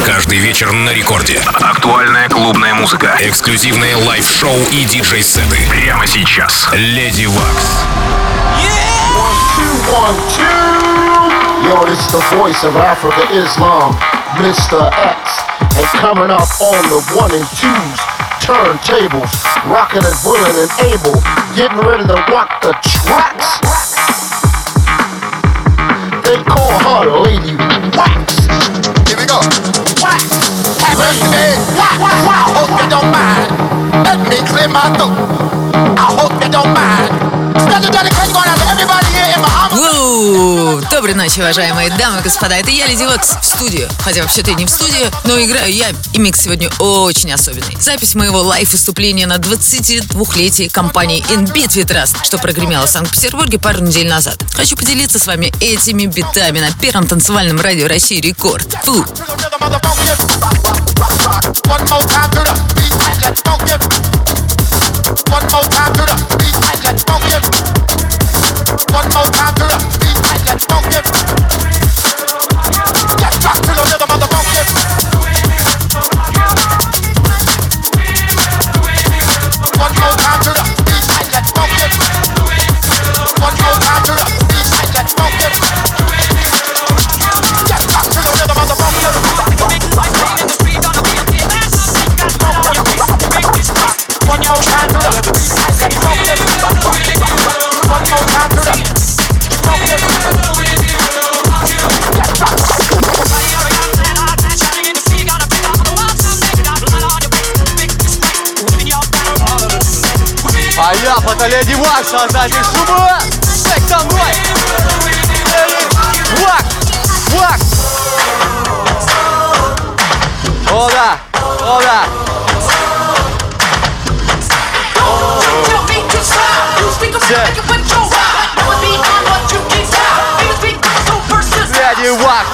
Каждый вечер на рекорде. Актуальная клубная музыка. Эксклюзивные лайв-шоу и диджей-сеты. Прямо сейчас. Леди Вакс. Yo, this the voice of Africa Islam, Mr. X. And coming up on the 1 and 2s, turntables, rockin' and willing and able, getting ready to rock the tracks. They call her Lady Wax. Here we go. Wax. Happy birthday. I hope you don't mind. Let me clear my throat. I hope you don't mind. Special dedication going out to everybody here in Muhammad. Доброй ночи, уважаемые дамы и господа. Это я, Леди Вакс, в студию. Хотя вообще-то не в студию, но играю я, и микс сегодня очень особенный. Запись моего лайв-выступления на 22-летие компании InBeat Trust, что прогремело в Санкт-Петербурге пару недель назад. Хочу поделиться с вами этими битами на первом танцевальном радио России Рекорд. Фу! One more time to the beat, let's funk it. One more time to the beat, let's funk it. Let's rock to the rhythm of the funk it. One more time to the beat, let's funk it. One more time to the beat, let's funk it. Let's rock to the rhythm of the funk it. One more time to the А я фото Леди Вакс, создатель шума! Шейк со мной! Леди Вакс! Вакс! О да! О да! Леди Вакс!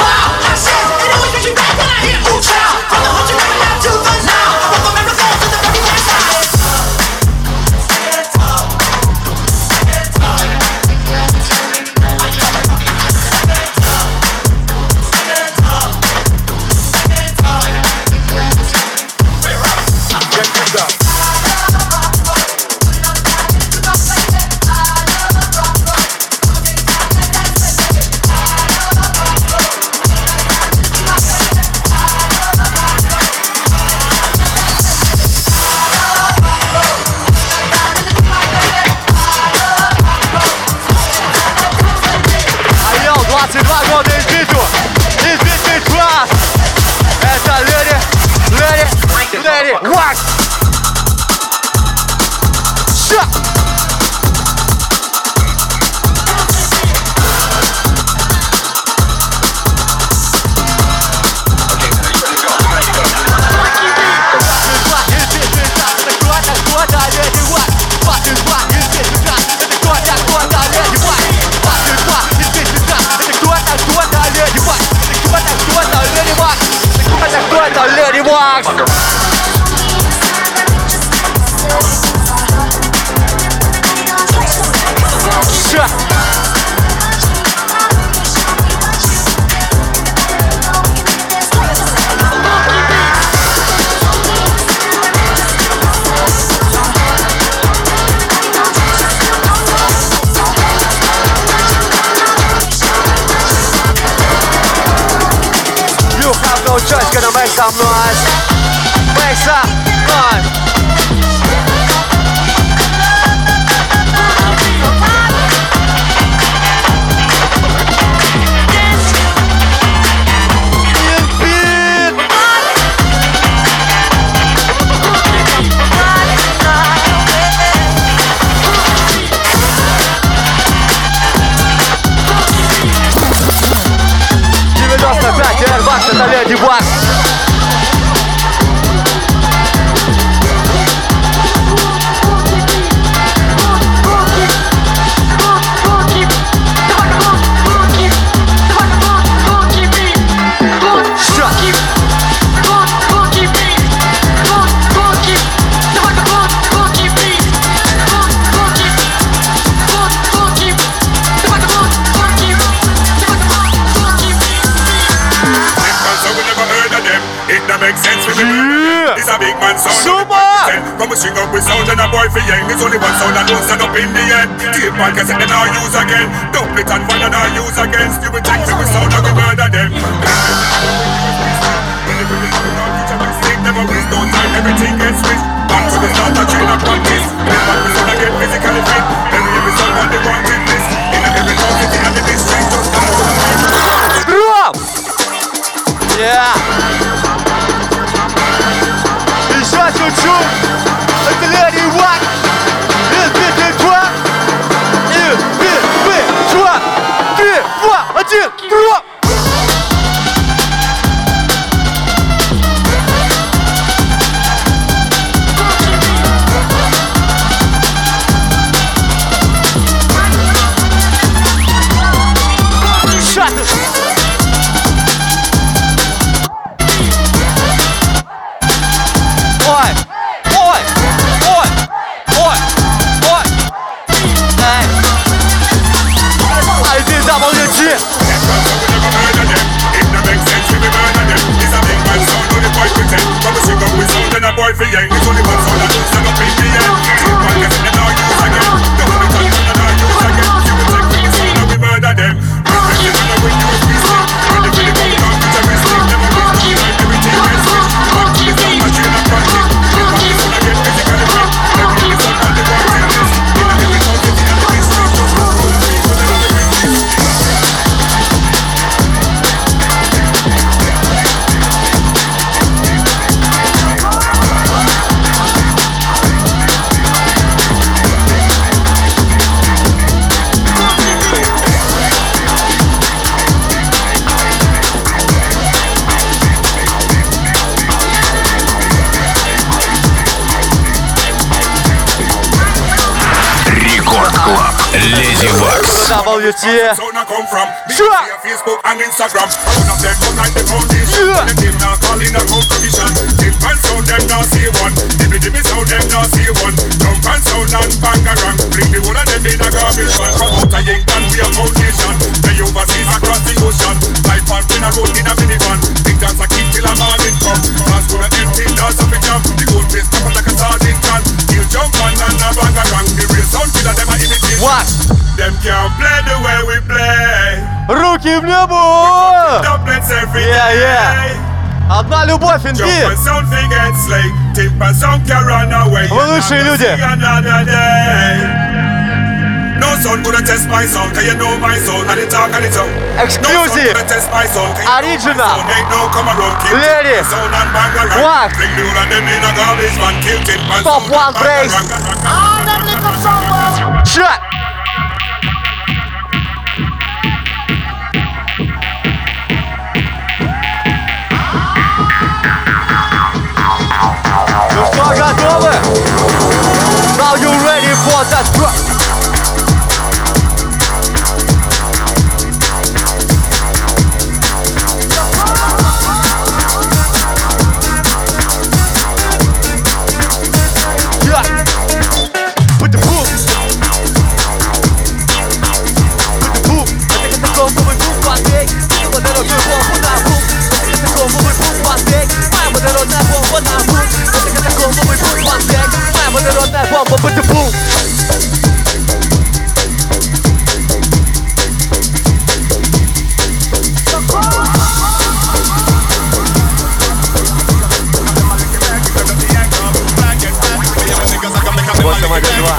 Леди Вакс! Леди Вакс! You have no choice, gonna make some noise. Make some noise. Это Леди Вакс. a big man sound. Zuma! Come we string up with sound and a boy for yang. There's only one sound and don't stand up in the end. Tape and cassette then I'll use again. Double it and one and I'll use again. Still we take to we sound and we murder them. Never waste no time, everything gets switched. Back to the start, I train and practice. Then back to sound, I get physically fit. Every song on the wanted list. In every town, city and the district, just down to the Drop! Yeah! Еще чуть-чуть! Это Леди Вак! Два! Два! 3, 2, 1, дроп! Леди Вакс. WT. Facebook and Instagram. One of them look like the foundation. Them now calling a competition. Tip and sound them now see one. Dimmy sound them now see one. Jump and sound and bangarang. Bring the one of them in a garbage man. From out of England we a foundation. They overseas across the ocean. Life on in a road in a minivan. Think that's a kid till a morning come. Cause for the empty doors of a jump. The gold face come like a sardine can. He'll jump on and a bangarang. The real sound killer them a imitate. What? Them can't play the way we play. Руки в небо! Одна любовь, инди! Вы лучшие люди! Эксклюзив! Оригинал! Леди! Вак! Топ-1 брейс! Чат! Ну что, готовы? Now you ready for that drop? With the boom. With the boom. Это катакомбовый бум, панкейк. Водородную бомбу на бум. Это катакомбовый бум, панкейк. Моя водородная бомба на бум. Это катакомбовый бум, панкейк. Моя водородная бомба, with the boom. Вот сама бедва.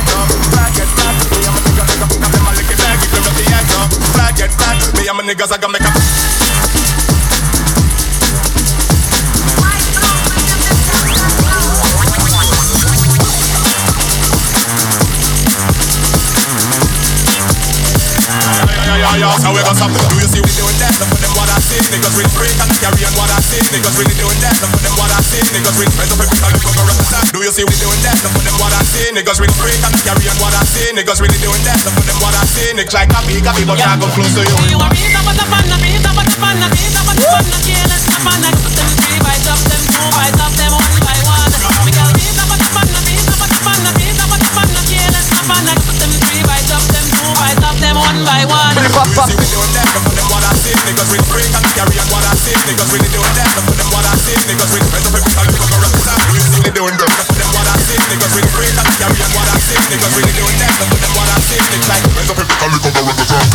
So we gon' stop. Do you see we doing that? Look for them what I see. Niggas really freak and carry on what I see. Niggas really doing that. Look for them what I see. Niggas really raise up every time they come around the top. Do you see we doing that? Look for them what I see. Niggas really freak and carry on what I see. Niggas really doing that. Look for them what I see. Niggas like copy, but I go close to you. You want me to put up on the beat, up on the beat, up on the can't stop on the put them 3 bites up, them 2 bites up, them 1 by 1. We got beat up on the beat, up on the beat, up on the can't stop on the put them 3 bites up, them 2 bites up, them 1 by 1. Niggas really Niggas break and carry on what I say. Niggas really doing that. Look for them what I say. Niggas really better people can look around the side. You really doing that. Look for them what I say. Niggas really break and carry on what I say. Niggas really doing that. Look for them what I say. Niggas like better people can look around the side.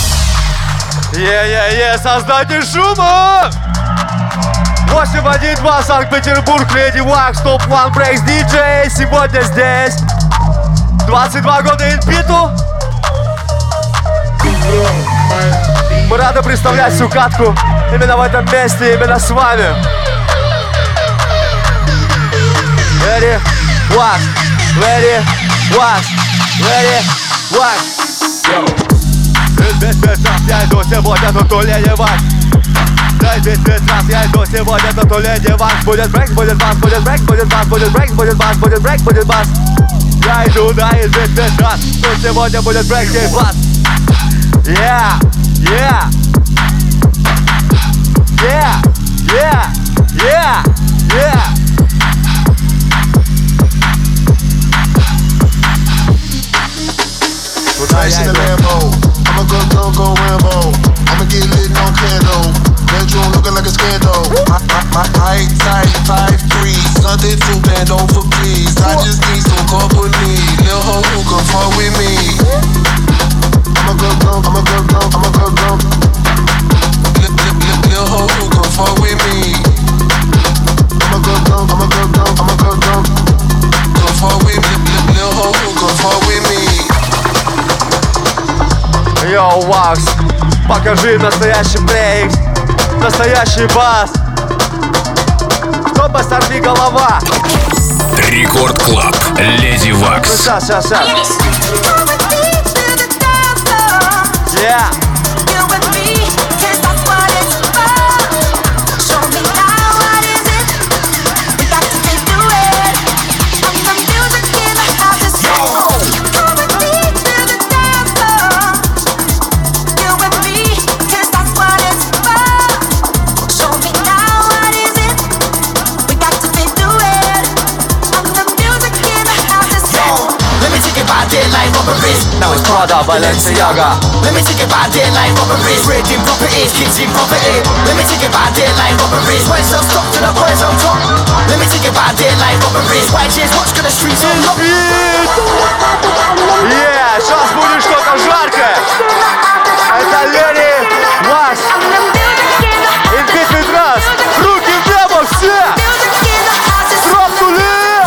Создатель шума! 812 Санкт-Петербург, Леди Вакс, Топ One Breaks DJ. Сегодня здесь 22 года инбиту. Мы рады представлять всю катку именно в этом месте, именно с вами. Леди Вакс, Леди Вакс, Леди Вакс. Я иду сегодня, тут у Леди Вакс. Я иду сегодня, тут у Леди Вакс. Будет брейк, будет бас, будет брейк, будет бас, будет брейк, будет бас, будет брейк, будет бас. Я иду, да, и здесь раз. Тут сегодня будет брейк и бас. Yeah, yeah, yeah, yeah, yeah, yeah. Nice in the Lambo. I'ma go Rambo. I'ma get lit on candle. Bedroom looking like a scandal. My height tight 5'3". Something to bend over, please. I just need some company. Lil' hoe who can fuck with me. I'ma go. Lil' hoe who can fuck with me. I'ma go. Come fuck with me. Lil' hoe who can fuck with me. Йоу, Вакс, покажи настоящий брейк, настоящий бас. Чтобы сорви голова. Рекорд Клаб. Леди Вакс. Сейчас. Yeah. Now it's Prada, Balenciaga. Let me take it by deadline robberies. Raiding properties, kids in poverty. Let me take it by deadline robberies. Boys on top to the boys on top. Let me take it by deadline robberies. YG's watch the streets on lock. Yeah, сейчас будет что-то жаркое. Это Леди Вакс. Инбит раз. Руки в небо все. Тропнули.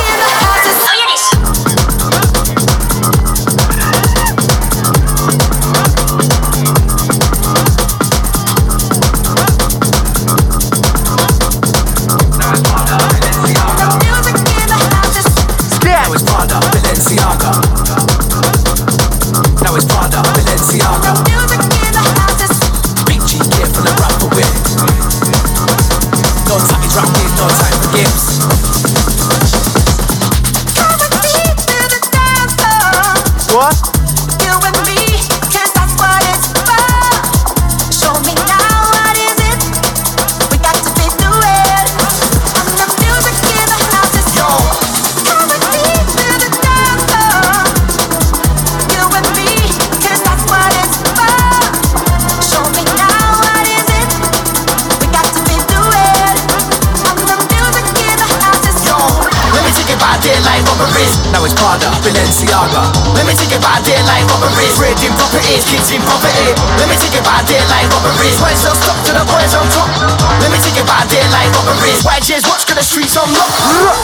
Now it's Prada, Balenciaga. Let me take it by deadline robberies. Raiding properties, kids in poverty. Let me take it by deadline robberies. Boys on top to the boys on top. Let me take it by deadline robberies. YG's watch the streets on lock.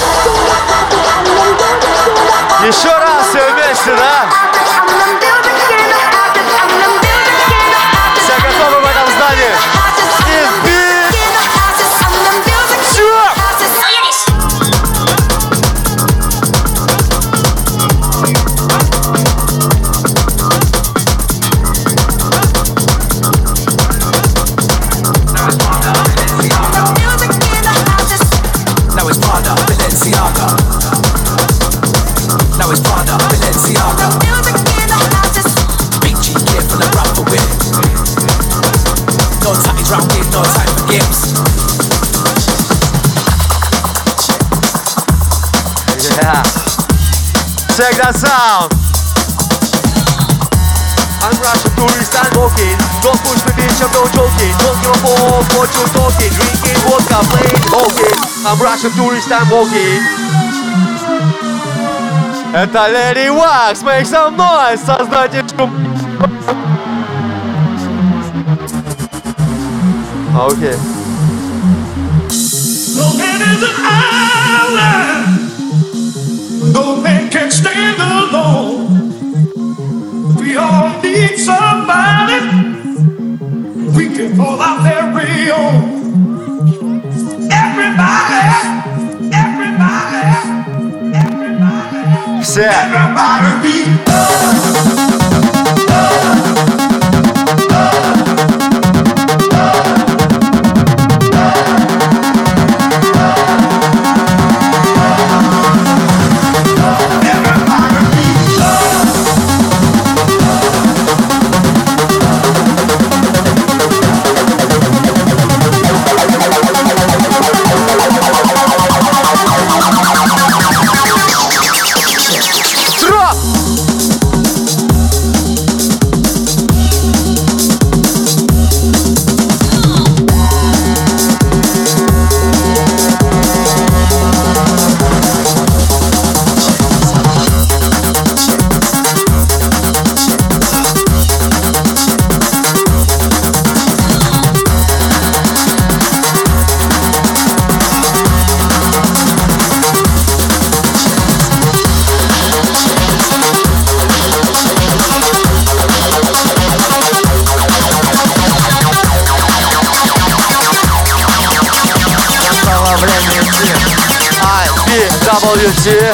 Еще раз все вместе, да? Все готовы в этом здании? Check that sound. I'm Russian tourist and walking. Don't push me bitch, I'm no joking. Don't give a fuck what you talking. Drinking vodka, playing walking. I'm Russian tourist and walking. Это Lady Wax, make some noise, создатель шум. Окей. No man is an island. No man can stand alone. We all need somebody. We can call out very own. Everybody, everybody, everybody. Все. Everybody be WT.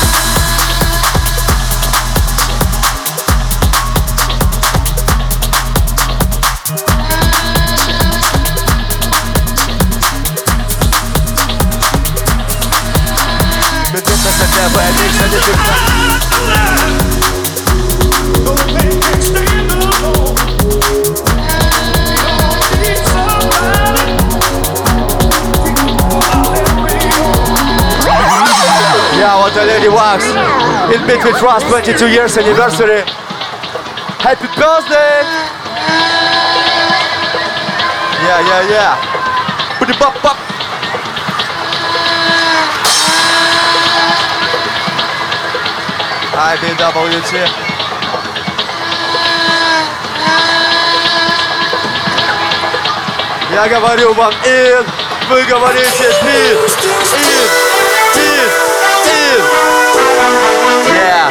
Yeah, what a Lady Wax. In Between Trust 22 years anniversary. Happy birthday! Yeah. Put it pop. IBWT. Я говорю вам in, вы говорите peace, in. Yeah.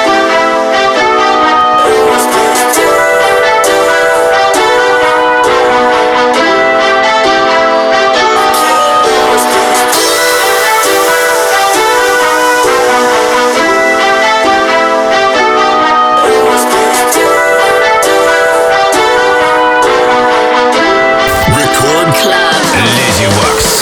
Record Club. Lady Wax.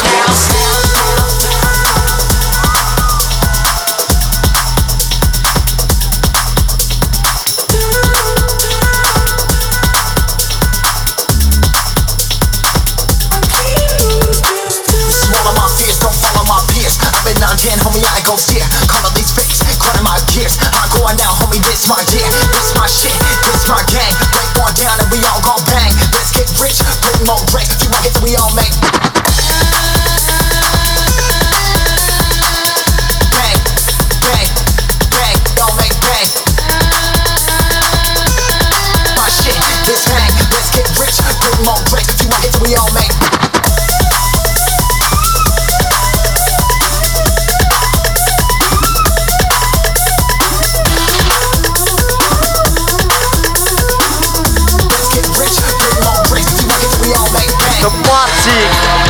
Homie, I go steer, color these fakes, cutting my gears. I'm going down, homie, this my gear, this my shit, this my gang. Break one down and we all gon' bang. Let's get rich, bring more drinks, a few more hits we all make. Bang, bang, bang, don't make bang. My shit, this hang. Let's get rich, bring more drinks, a few more hits we all make. The party.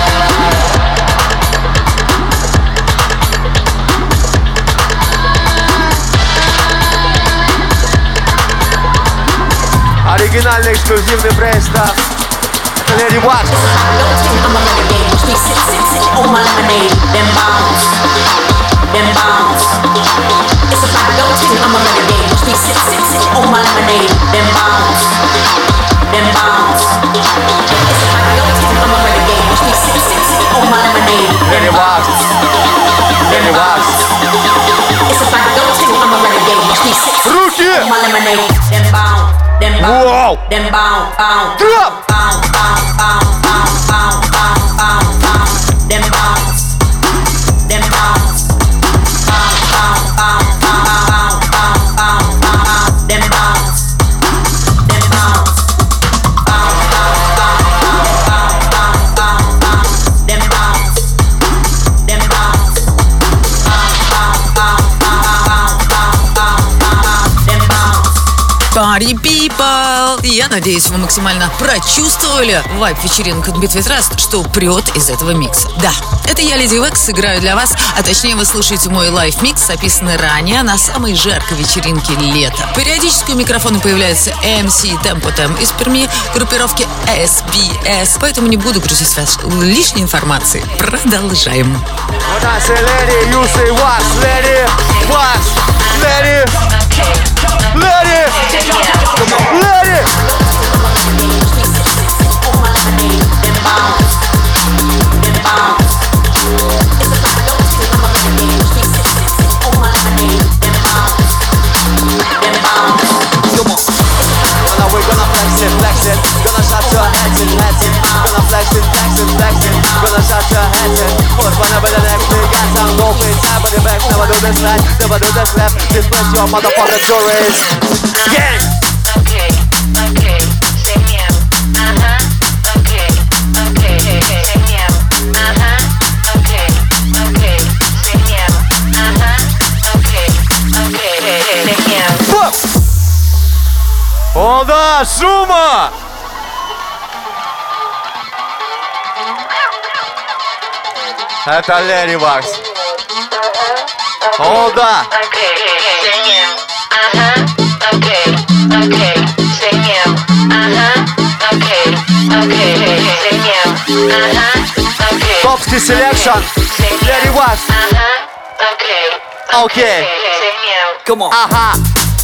Оригинальный эксклюзивный брейстап. Это Lady Wax. Lady Wax. Lady Wax. Руки! Them bounce, bounce, Drop. bounce, bounce, bounce, bounce, bounce, bounce, bounce, bounce. Them bounce, them bounce, bounce, bounce, bounce, bounce, bounce, bounce, bounce. Them bounce, them bounce, bounce, bounce, bounce, bounce, bounce, bounce, bounce. Them bounce, them bounce, bounce, bounce, bounce, bounce, bounce, bounce, bounce. Them bounce. Party people! Я надеюсь, вы максимально прочувствовали вайб вечеринок от Beat With Rust, что прет из этого микса. Да, это я, Леди Векс, играю для вас, а точнее вы слушаете мой лайв-микс, записанный ранее на самой жаркой вечеринке лета. Периодически у микрофона появляется MC Tempo Tem из Перми, группировки SBS, поэтому не буду грузить вас лишней информацией. Продолжаем. When I say lady, you say what? Lady, what? Lady, lady, lady. Now we're gonna flex it, gonna shut your heads in, gonna flex it, gonna shut your heads in. Put one over the next, we got some go free time, but the back never do this right, never do this left. This place your motherfucking tourist. Gang. Okay, okay, say meow. Okay, okay, say meow. Okay, okay, say meow. Okay, okay, say meow. Fuck. О да, шума! Это Лерри Вакс. О да! Okay, say meow. Okay, okay, say meow. Okay, okay, say meow. Okay. Топский селекшн. Лерри Вакс. Okay. Окей. Say meow. Come on. Ага.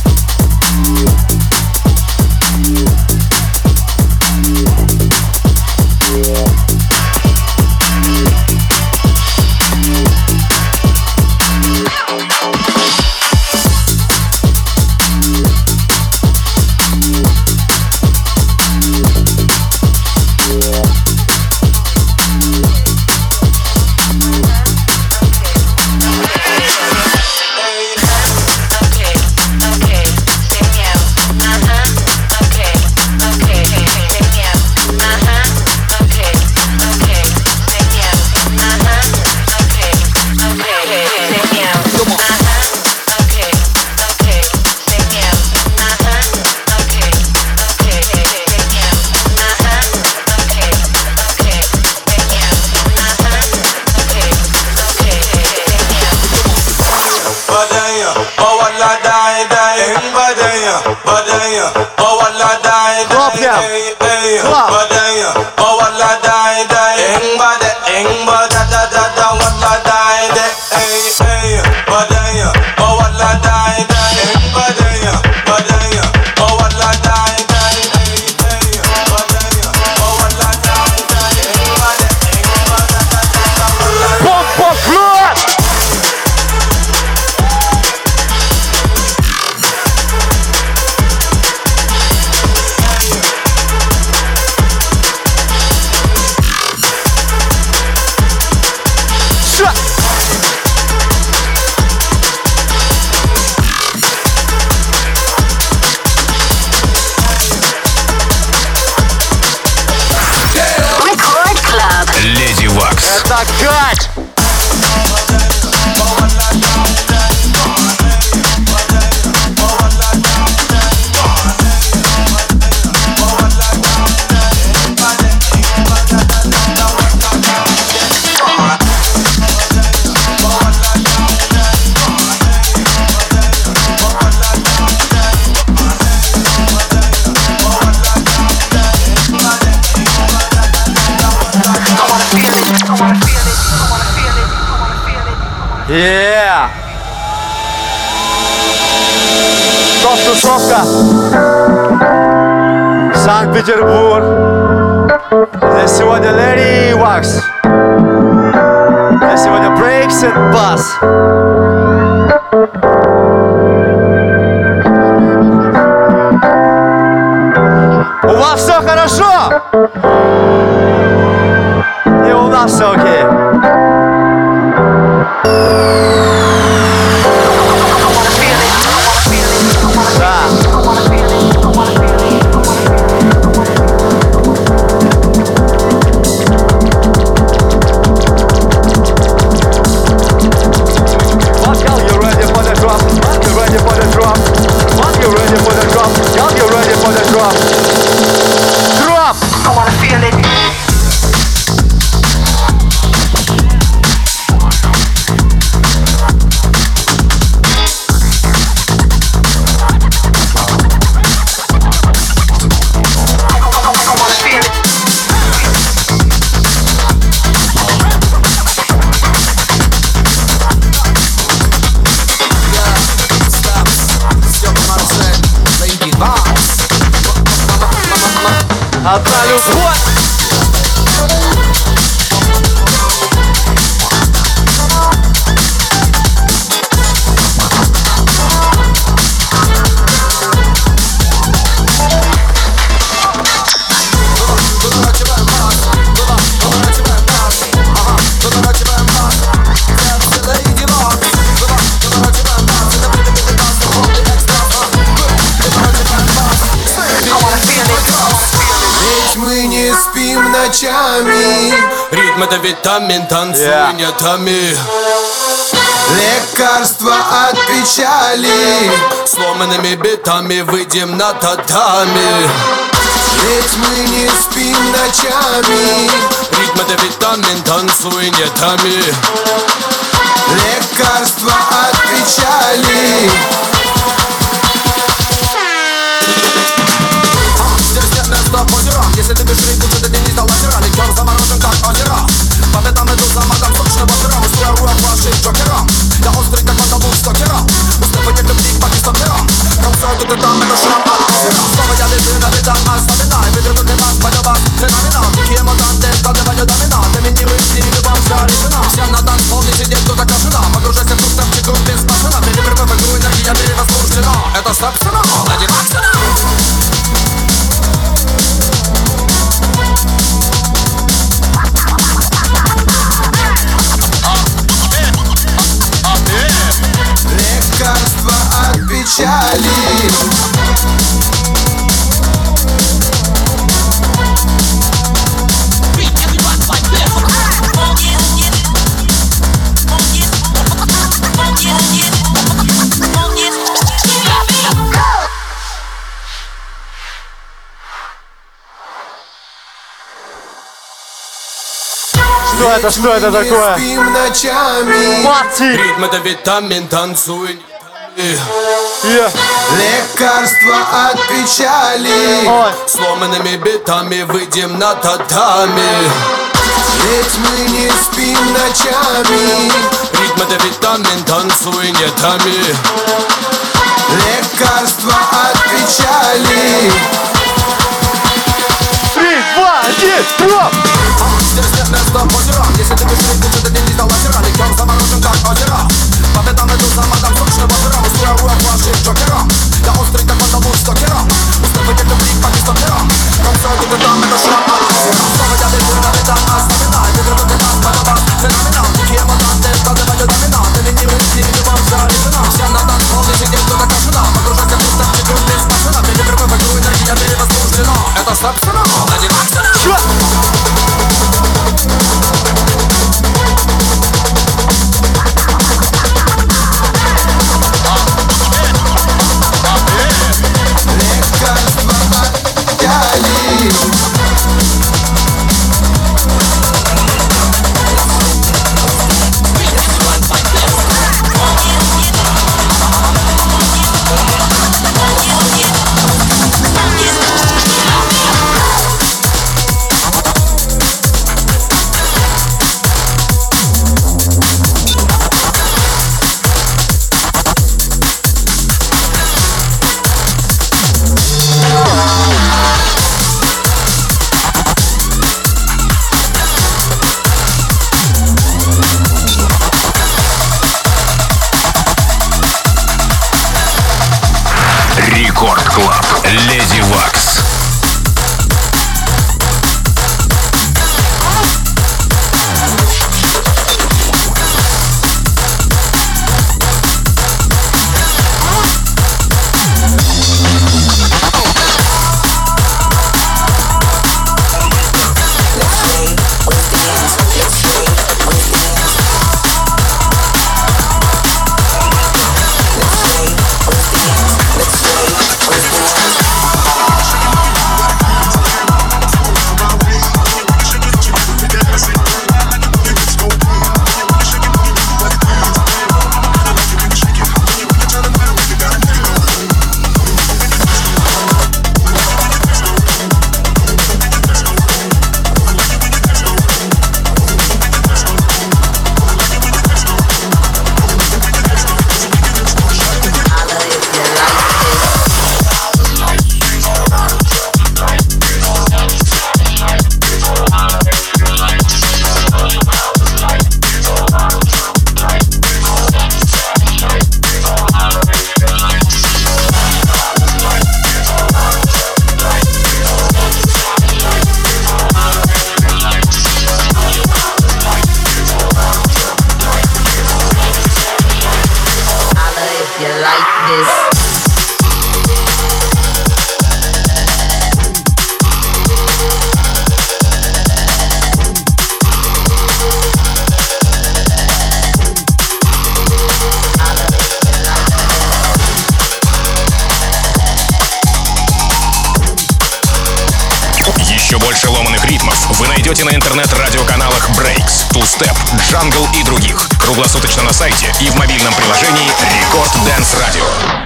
Yeah! Топ-тусовка. Санкт-Петербург. Здесь сегодня Лерри Вакс. Здесь сегодня Breaks and Bass. У вас все хорошо? И у нас все окей. Одна любовь. Ночами ритм — это витамин, танцуй нетами. Лекарство от печали, сломанными битами выйдем на татами. Ведь мы не спим ночами. Ритм — это витамин, танцуй нетами. Лекарство от печали. Здесь нет места позерам. Если ты бежишь, лучше ты не стал лазера. Легким заморожен, как озера. По пятам иду за магом сочного пера. Устрою вашим джокерам. Я острый, как водолуз стокера. Уступы не любви, по кистоперам. Танцую тут и там, это шрам от озера. Снова я лежу на видах, оставинай. Выдержу для вас, пойду вас, феноменал. Какие мутанты, складываю домина. Доминирует в стиле, любом вся решена. Вся на танцпол, не сидеть, тут окажена. Погружайся в круг, там чеку без пацана. Перепрыгивай в игру, энергия перевозбуждена. Это собственно, один акцент. Лекарство от печали. Что это такое? Спим ночами. Ритм — это витамин, танцуй Лекарство от печали. сломанными битами выйдем на татами. Ведь мы не спим ночами. Ритм — это витамин, танцуй нетами. Лекарство от печали. 3, 2, 1, дроп! Здесь нет места позерам. Если ты бежишь, лучше ты не стал лазера. Легким заморожен, как озера. По пятам иду за магом сочного пера. Устрою вашим джокерам. Я острый, как водолуз стокера. Уступы не любви, по кистоперам. Танцую тут и там, это шрам от озера. Снова я лежу на видах, оставинай. Выдержу для вас, пойду вас, феноменал. Какие мутанты, складываю домина. Доминирует в стиле, любом вся решена. Вся на танцпол, не сидеть, тут окажена. Погружайся в круг, там чеку без пацана. Перепрыгивай в игру, энергия перевозбуждена. Это собственно, один акцент. Рекорд Клаб. Леди Вакс. найдете на интернет-радиоканалах Breaks, Two Step, Jungle и других. Круглосуточно на сайте и в мобильном приложении Record Dance Radio.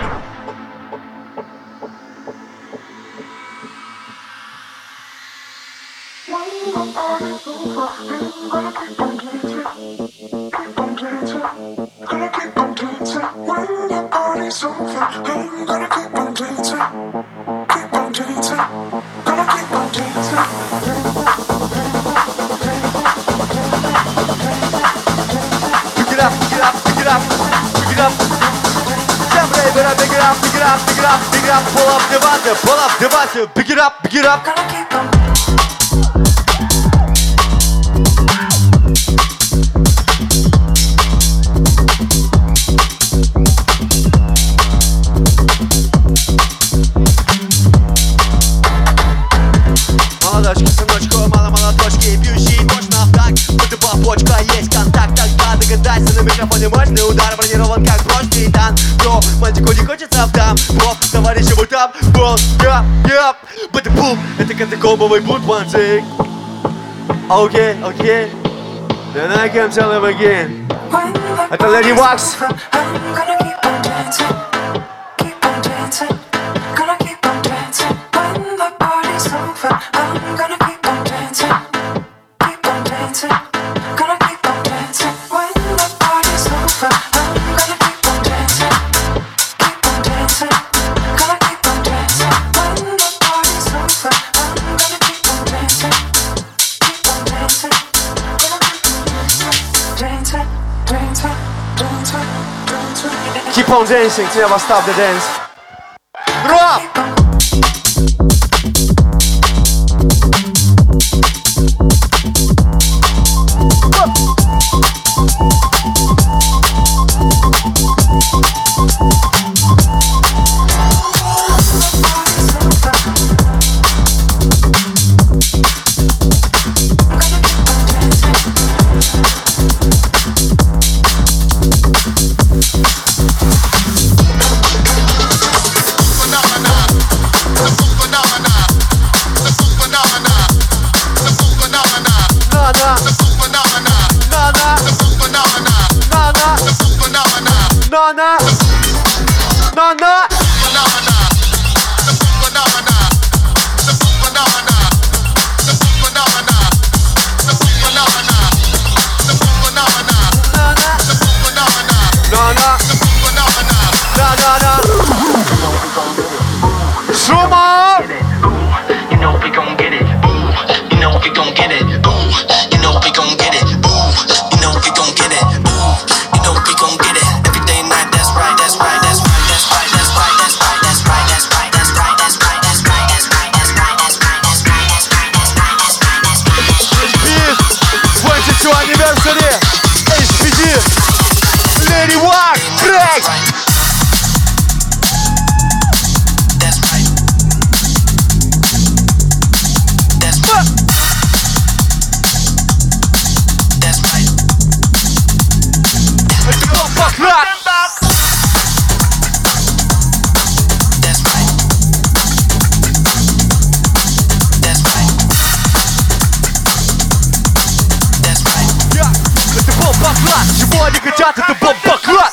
Pull up, девайсы, pick it up, pick it up. Молодочки, сыночку, мало молоточки, бьющие точно в такт. Будто побочка, есть контакт, тогда догадайся, на микрофоне мощный удар, бронирован как прочный титан. Но мальчику не хочется в там, бро, товарищ ему там, бро, яп, будто бум, это катакомбовый бут, one take. Окей, then I can tell him again. Это Lady Wax. Keep on dancing, never stop the dance. Drop! Чего они хотят, это бомба-класс!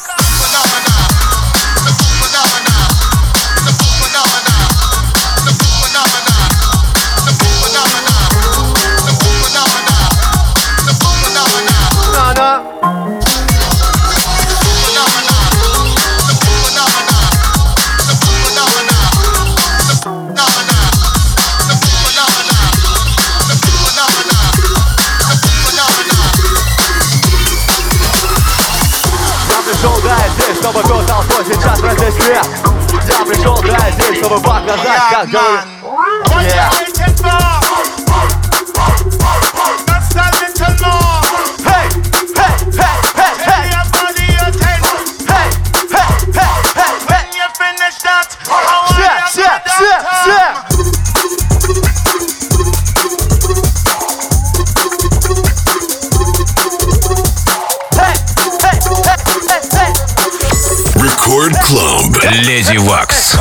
Чтобы был толпой сейчас протестует. Я пришел здесь, чтобы показать, как говорю. Record Club. Lady Wax.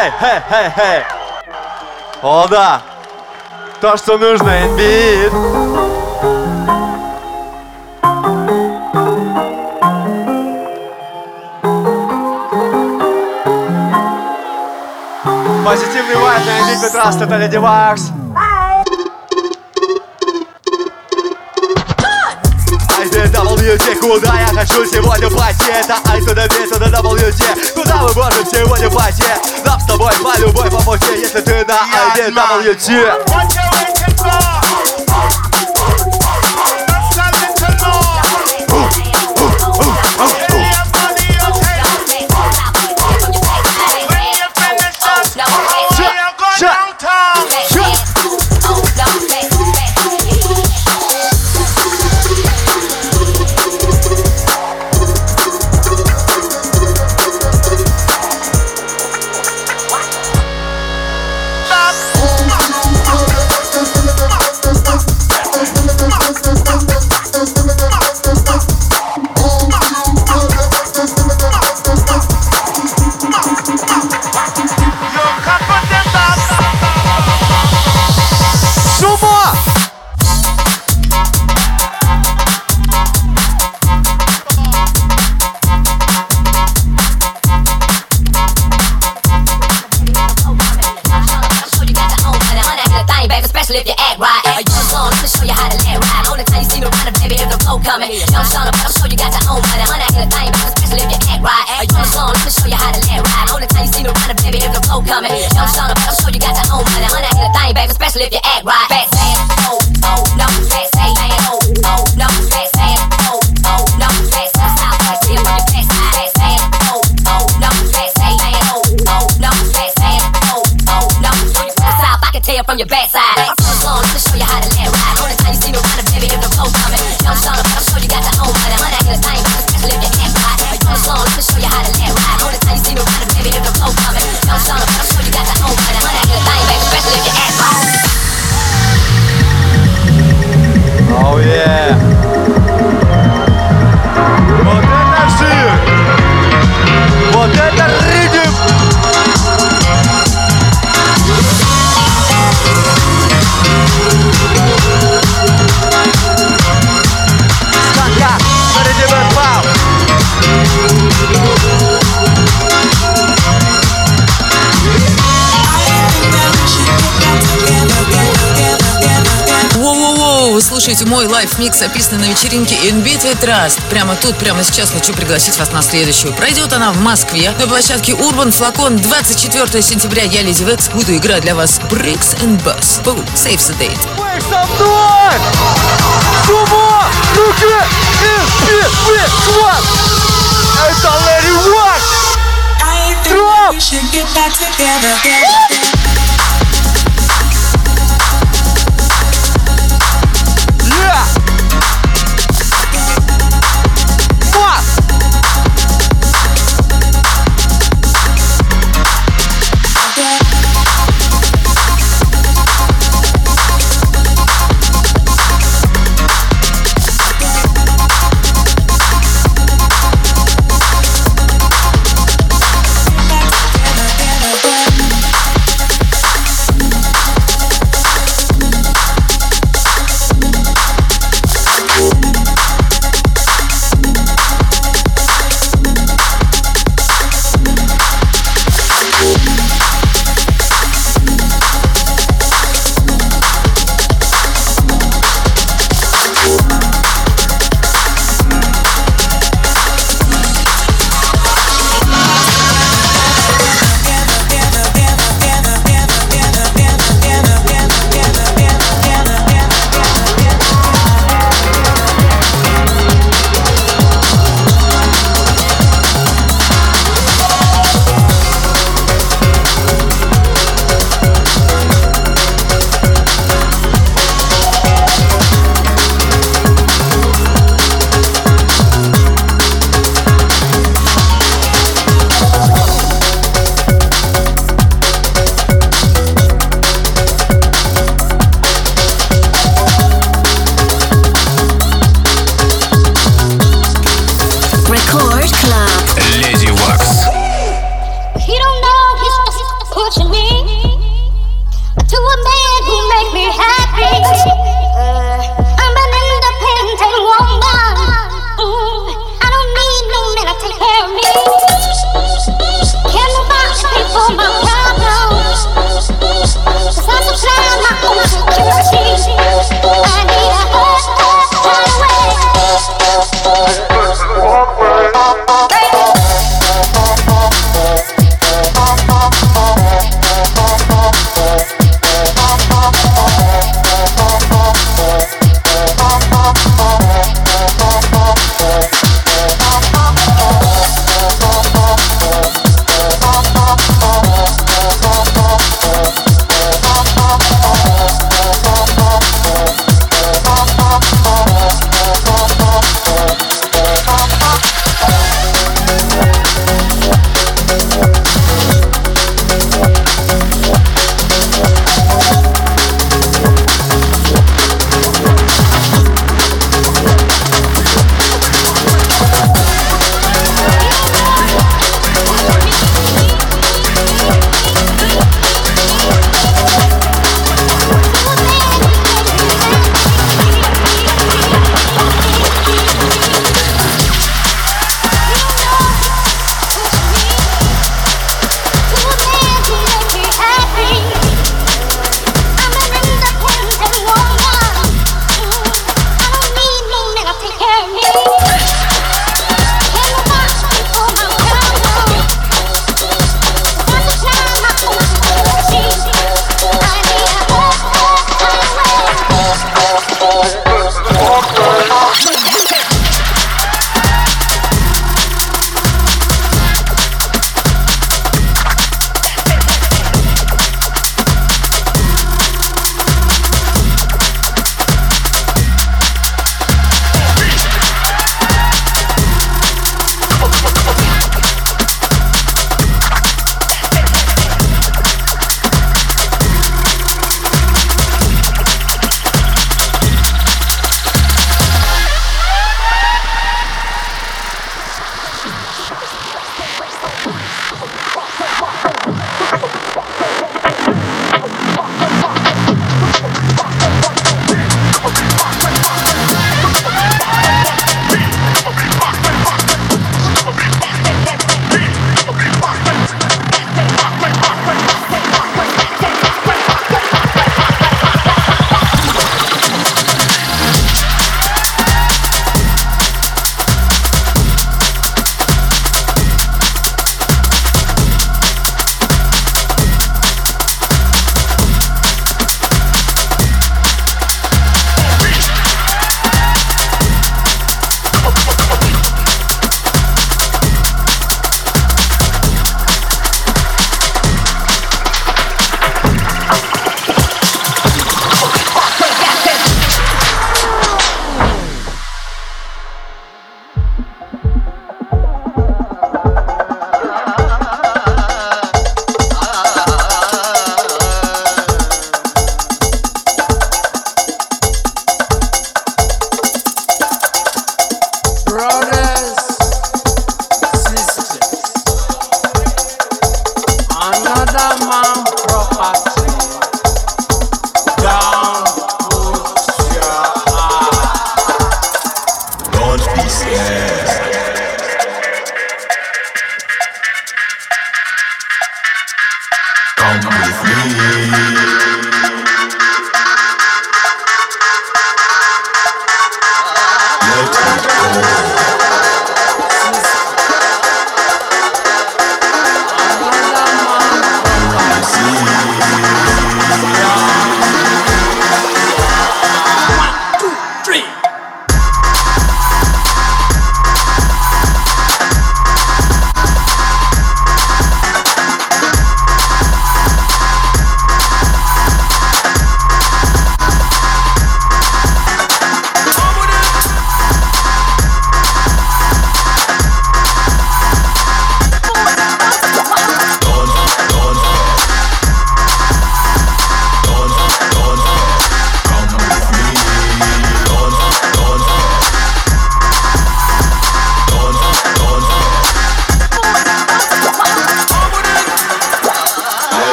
Хей! О, да! То, что нужно, инбит! Позитивный вайб на инбит Битраст, это Леди Вакс. WT, куда я хочу сегодня пойти? Это I to the B to the WT. Куда мы можем сегодня пойти? Нам с тобой по любой по пути, если ты на IDWT. If you act right, you just on, let me show you how to let right. Only time you see me running, baby, if the flow coming. Young Shauna, but I'm sure you got your own money. Honey, I hit a thing, but especially if you act right. You just on, let me show you how to let right. Only time you see me running, baby, if the flow coming. Young Shauna, but I'm sure you got your own money. Honey, I hit a thing, baby, especially if you act right. Fast, oh, no, fast, oh, no, fast, oh, no, fast, stop, right here on your backside. Fast, oh, no, fast, oh, no, fast, no, show you from the south, I can tell from your backside. Let me show you how to let right. Only time you see me running, baby, if the flow coming. Young Shauna, but I'm sure you got your own money. Honey, I hit a thing, especially if you act right. Let me show you how to let right. Only time you see me running, baby, if the flow coming. Young Shauna, but I'm sure you got your own money. Honey, I hit a thing, baby, especially if you act right. Oh yeah! Вот это жир! Вот это ритм! Воу-воу-воу, вы слушаете мой лайв-микс, описанный на вечеринке In Beat with Trust. Прямо тут, прямо сейчас хочу пригласить вас на следующую. Пройдет она в Москве на площадке Urban Flacon 24 сентября. Я, Леди Векс, буду играть для вас Bricks and Bass. Boom, save the date. Вы со мной! Сумо! Руки! In Beat with Trust! Это Lady Wax! Drop! Yeah! What?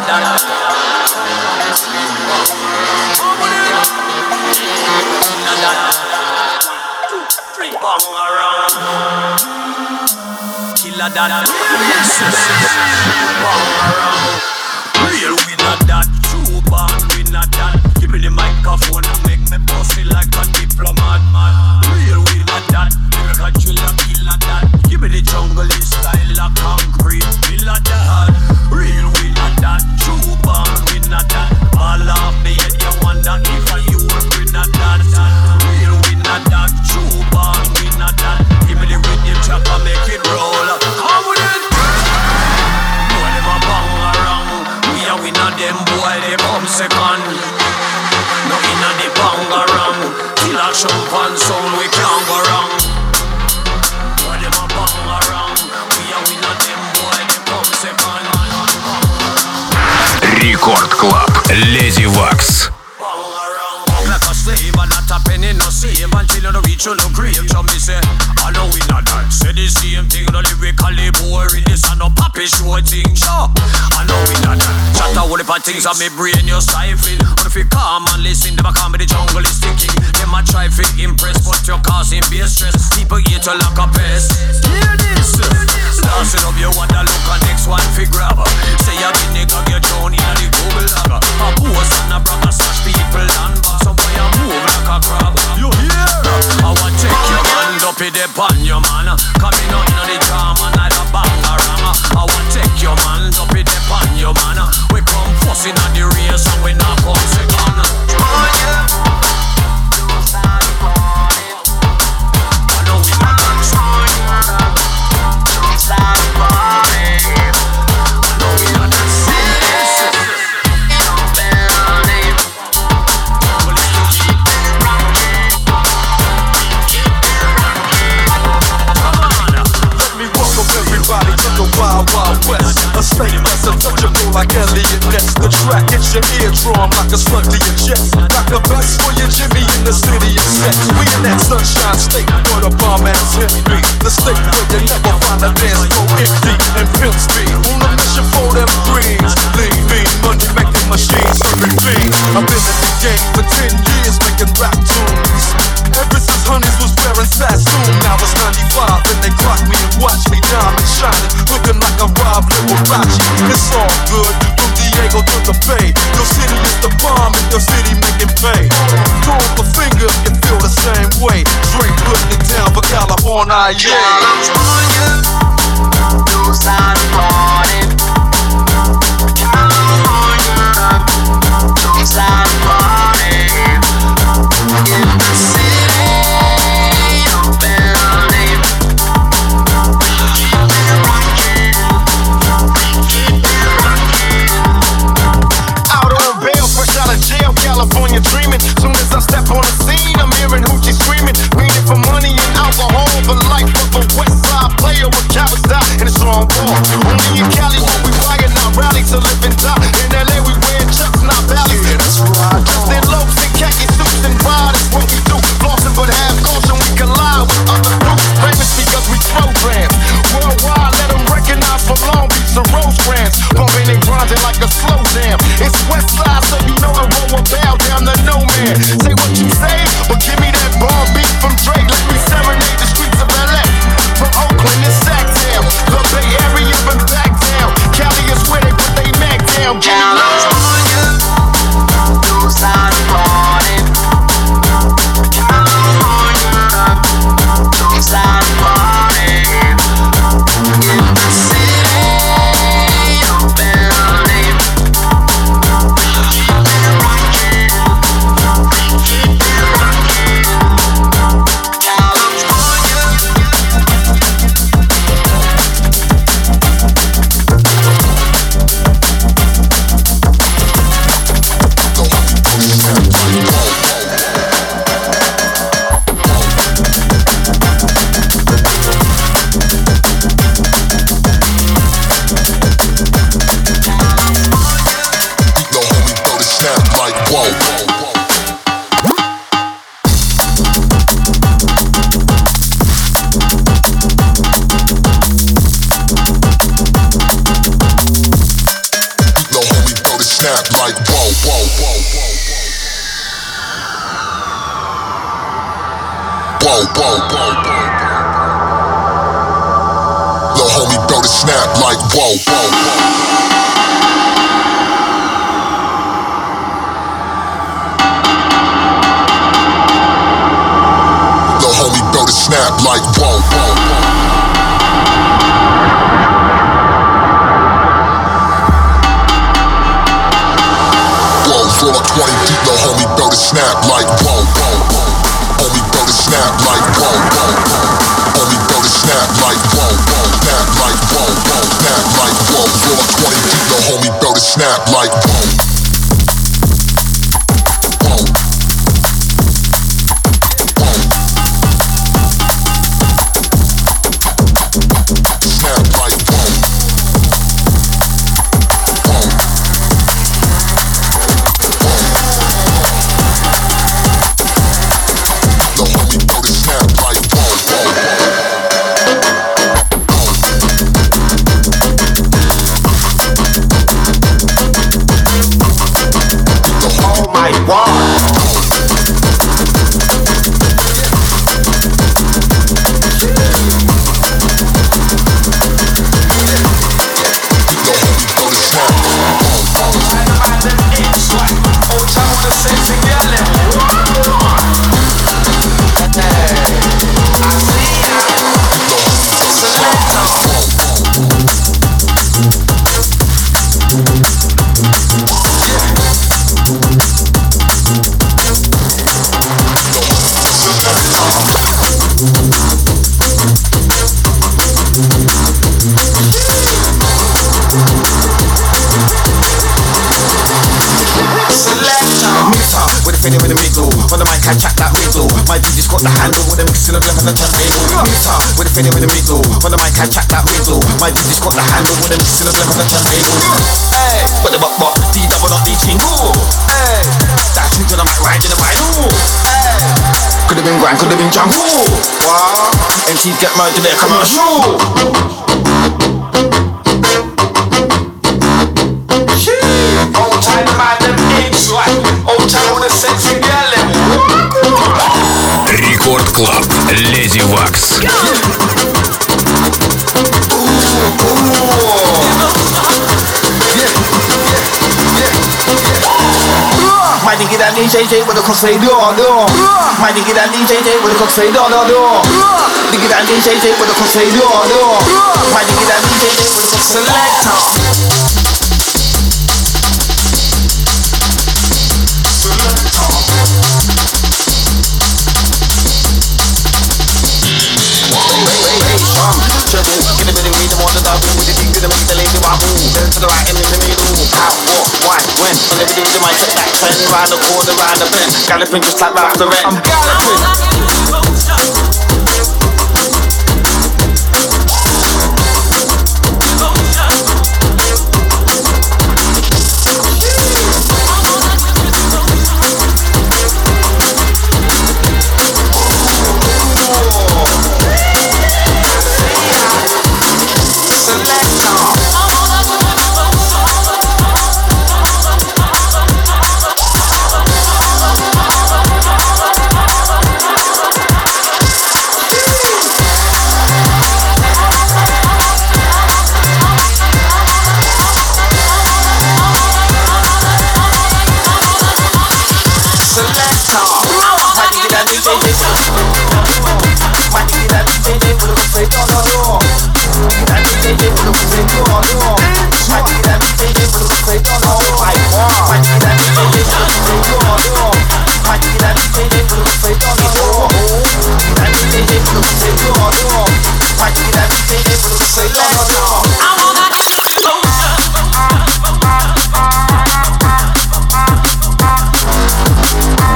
Killer that. Real we not that. True born we not that. Give me the microphone and make me pussy like a diplomat, man. Real we not that. Make a killer that. Give me the jungle style like concrete. Killer that. Real we not that. True born we not that. All of me and you wonder if you we not that. Real we not that. True born we not that. Give me the rhythm track and make it roll. Come with it. Boy them a bang around. We not them boy they come second. No inna the bang around. Till a champagne sound we can't go wrong. Boy them a bang around. We not them boy they come second. Рекорд Клаб. Леди Вакс. Like a slave and not a penny no save until you reach your grave. So me say, I know we not that. Say the same thing, no lyrically boring. This a no papi show thing, sure. I know we not that. Chat a whole heap of things on me brain you stifling. But if you come and listen, them a call me the jungle is ticking. Them a try to impress, but you're causing base stress. People hate you like a pest. Hear this. Dancing up you want to look at next one fi grab. Say you be nigga get down in the Google logger. A post and a brag a slash people and back. Some boy a move like a crab. You hear? I want take your hand up in the pan, your man. Coming out in the jam and I the bangarang. I want take your hand up in the pan, your man. We come first in the race and we not come second. Oh yeah. I know we not done. Everybody to the Wild Wild West. A state that's untouchable like Elliot Ness. The track hits your eardrum like a slug to your chest. Like the best for your Jimmy in the city of sex. We in that sunshine state where the bomb ass hit me. The state where you never find a dance floor empty and pimp speed. On a mission for them greens. Lean, mean, money making machines serving fiends. I've been in the game for 10 years making rap tunes. Ever since Honeys was wearing Sassoon. Now it's 95 and they clock me and watch me diamond shining, looking like a Rob Liberace. It's all good, from Diego to the Bay. Your city is the bomb and your city making pay. Throw up a finger if you feel the same way. Straight putting it down for California, yeah. California, those are the party. California, those are the party. In the city of LA. California dreaming. Soon as I step on the scene, I'm hearing hoochie screaming. Meaning for money and alcohol, the life of a West Side player with cowards die in a strong ball. Only in Cali where we riot, not rally to live and die. In LA we wear chucks, not valleys. That's right. Dressed in lopes and khaki suits and ride is what we do. Flossing but half caution, we collide with other groups. Famous because we program worldwide. Let them recognize from Long Beach to Rosecrans. Bumping and grinding like a slow jam. It's West Side, so you know the roll bow down to no man. Say what you say, but give me that bomb beat from Drake. Let me serenade the streets of LA. From Oakland to Sacktown, the Bay Area and back down. Cali is where they put they Mac down. Give me California, those are the party. California, those are the party. In the city of LA. snap like whoa, whoa, whoa, whoa, whoa, whoa, whoa, whoa. Lil' homie built a snap like whoa, whoa, whoa. Snap like whoa, whoa, whoa. Blows roll up 20 deep, little homie built a snap like whoa, whoa, whoa. Homie built a snap like whoa, whoa, whoa. Homie built a snap like whoa, whoa. Snap like whoa, whoa. Snap like whoa. Roll up 20 deep, little homie built a snap like whoa. Could have been jungle. Wow. MCs get murdered in their commercial. Old time man them age like. Old time with a sexy girl. Рекорд Клаб. Леди Вакс. My nigga that DJ with a crossfade door. My nigga that DJ with a crossfade door. Nigga that DJ with a crossfade door. My nigga that DJ with a selector. Get a bit of me, the more that I win with the thing to make the lady wobble. Then to the right and in the middle. How, what, why, when? On every day, the mic check back, turn round the corner, round the bend. Galloping just like Ralph Lauren. I'm galloping.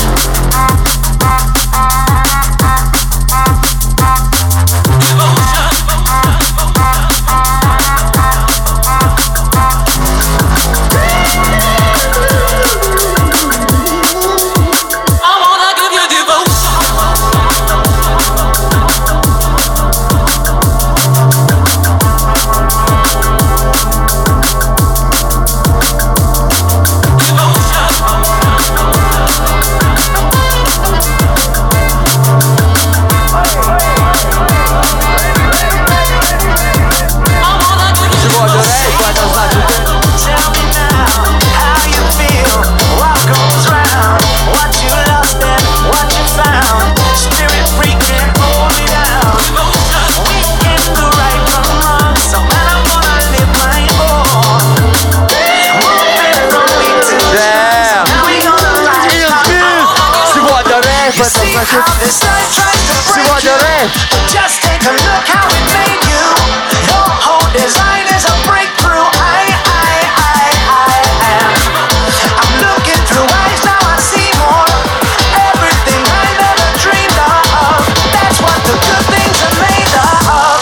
Emotion. значит, сегодня рейв. Just take a look how it made you. Your whole design is a breakthrough. I'm looking through eyes, now I see more. Everything I never dreamed of. That's what the good things are made of.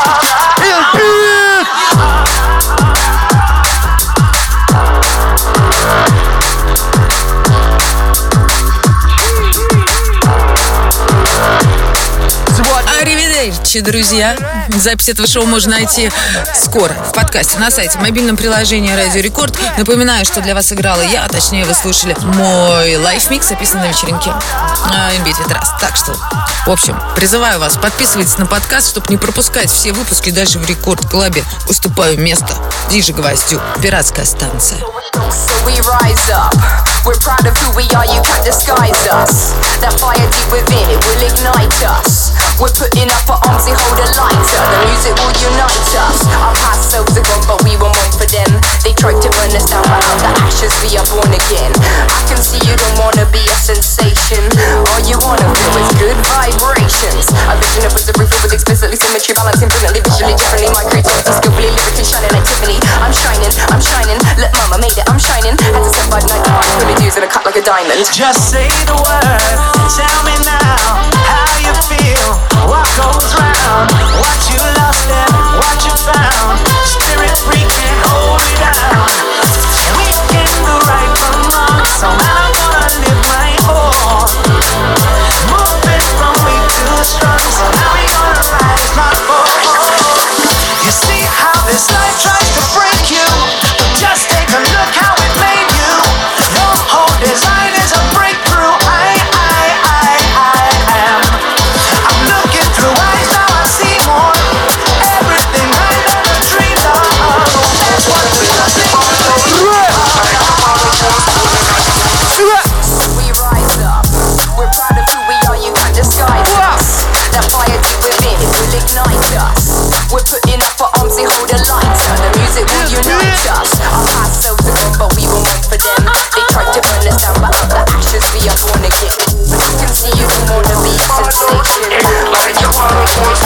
Аривидерчи, друзья. Запись этого шоу можно найти скоро в подкасте на сайте, в мобильном приложении Радио Рекорд. Напоминаю, что для вас играла я, а точнее вы слушали мой лайф-микс, записанный на вечеринке In Beat With Rust. Так что, в общем, призываю вас, подписывайтесь на подкаст, чтобы не пропускать все выпуски. Дальше в Рекорд Клабе уступаю место Диже Гвоздю. Пиратская станция. So we rise up, we're proud of who we are, you can't disguise us. That fire deep within, it will ignite us. We're putting up our arms, they hold a lighter. The music will unite us. Our past selves are gone, but we were one for them. They tried to burn us down, but out the ashes we are born again. I can see you don't wanna be a sensation. All you wanna feel is good vibrations. A vision of a roof with explicitly symmetry, balance infinitely, visually differently. My creativity, skillfully, lyrically shining like Tiffany. I'm shining, look mama made it, I'm shining. Had to step by night, fully dues and a cut like a diamond. Just say the word, tell me now how you feel. What goes round, what you lost and what you found. Spirit free can't hold me down. We can do right from wrong, so now I'm gonna live my own. Moving from weak to strong, so now we gonna rise my boat. You see how this life tries to break you. Just take a look how it made you. Your whole design is a breakthrough. I'm looking through eyes, now I see more. Everything I never dreamed of. That's what we are We rise up, we're proud of who we are, you can't disguise us. That fire deep within, it will ignite us. We're putting up our arms, they hold a lighter. The music will unite us. Our past selves are gone, but we were one for them. They tried to burn us down, but out the ashes we are born again. I can see you don't wanna be a sensation. All you wanna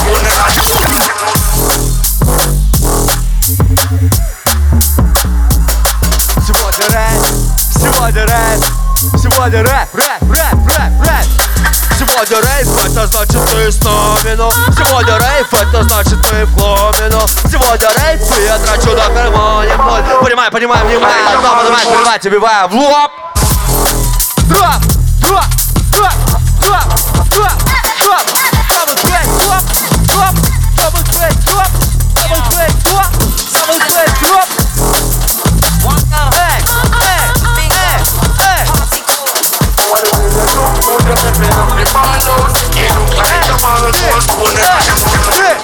Сегодня рэп. Сегодня рейв, это значит ты с нами, ну. Сегодня рейв, это значит мы в клубе, ну. Сегодня рейв, и я трачу на гармонию. Понимаю, внимание, одно поднимать, передать, убиваю в лоб. Дроп. Double bass,